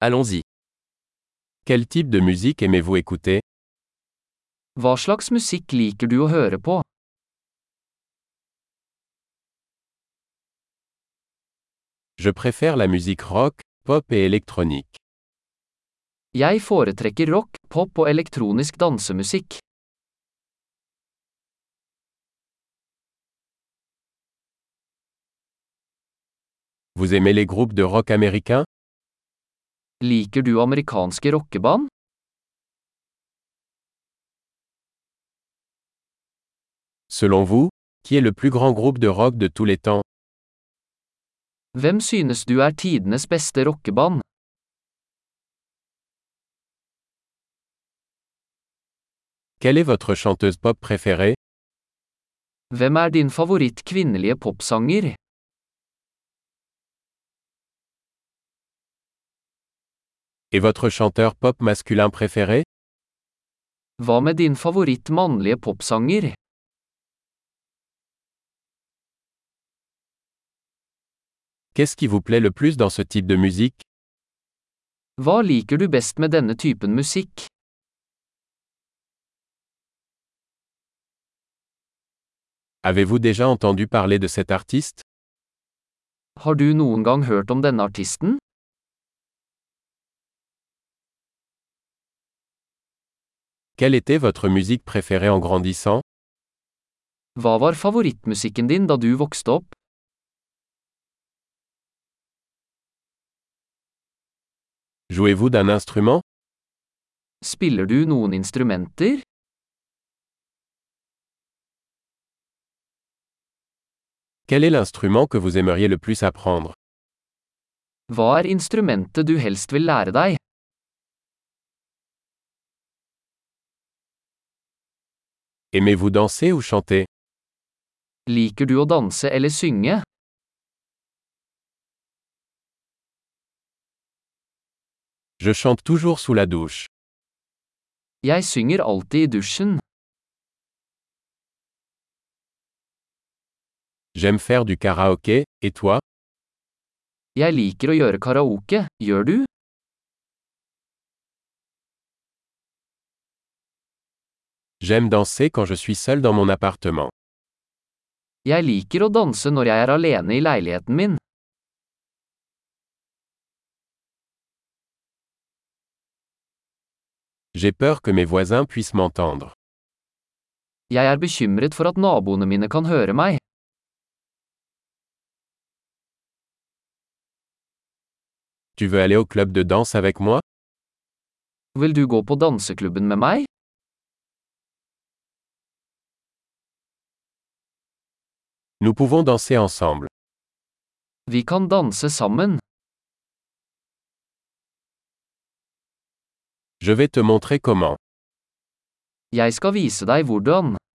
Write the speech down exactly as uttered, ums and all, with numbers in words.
Allons-y. Quel type de musique aimez-vous écouter? Hva slags musikk liker du å høre på? Je préfère la musique rock, pop et électronique. Jeg foretrekker rock, pop og elektronisk dansemusikk. Vous aimez les groupes de rock américains? Liker du amerikanske rockeband? Selon vous, qui est le plus grand groupe de rock de tous les temps? Hvem synes du er tidenes beste rockeband? Quelle est votre chanteuse pop préférée? Hvem er din favoritt kvinnelige popsanger? Et votre chanteur pop masculin préféré? Hva med din favoritt mannlige popsanger? Qu'est-ce qui vous plaît le plus dans ce type de musique? Hva liker du best med denne typen musikk? Avez-vous déjà entendu parler de cet artiste? Har du noen gang hørt om denne artisten? Quelle était votre musique préférée en grandissant? Hva var favorittmusikken din da du vokste opp? Jouez-vous d'un instrument? Spiller du noen instrumenter? Quel est l'instrument que vous aimeriez le plus apprendre? Hva er instrumentet du helst vil lære deg? Aimez-vous danser ou chanter? Liker du å danse eller synge? Je chante toujours sous la douche. Jeg synger alltid i dusjen. J'aime faire du karaoké, et toi? Jeg liker å gjøre karaoke, gjør du? J'aime danser quand je suis seul dans mon appartement. Jeg liker å danse når jeg er alene i leiligheten min. J'ai peur que mes voisins puissent m'entendre. Jeg er bekymret for at naboene mine kan høre meg. Tu veux aller au club de danse avec moi? Vil du gå på danseklubben med meg? Nous pouvons danser ensemble. Vi kan danse sammen. Je vais te montrer comment. Jeg skal vise deg hvordan.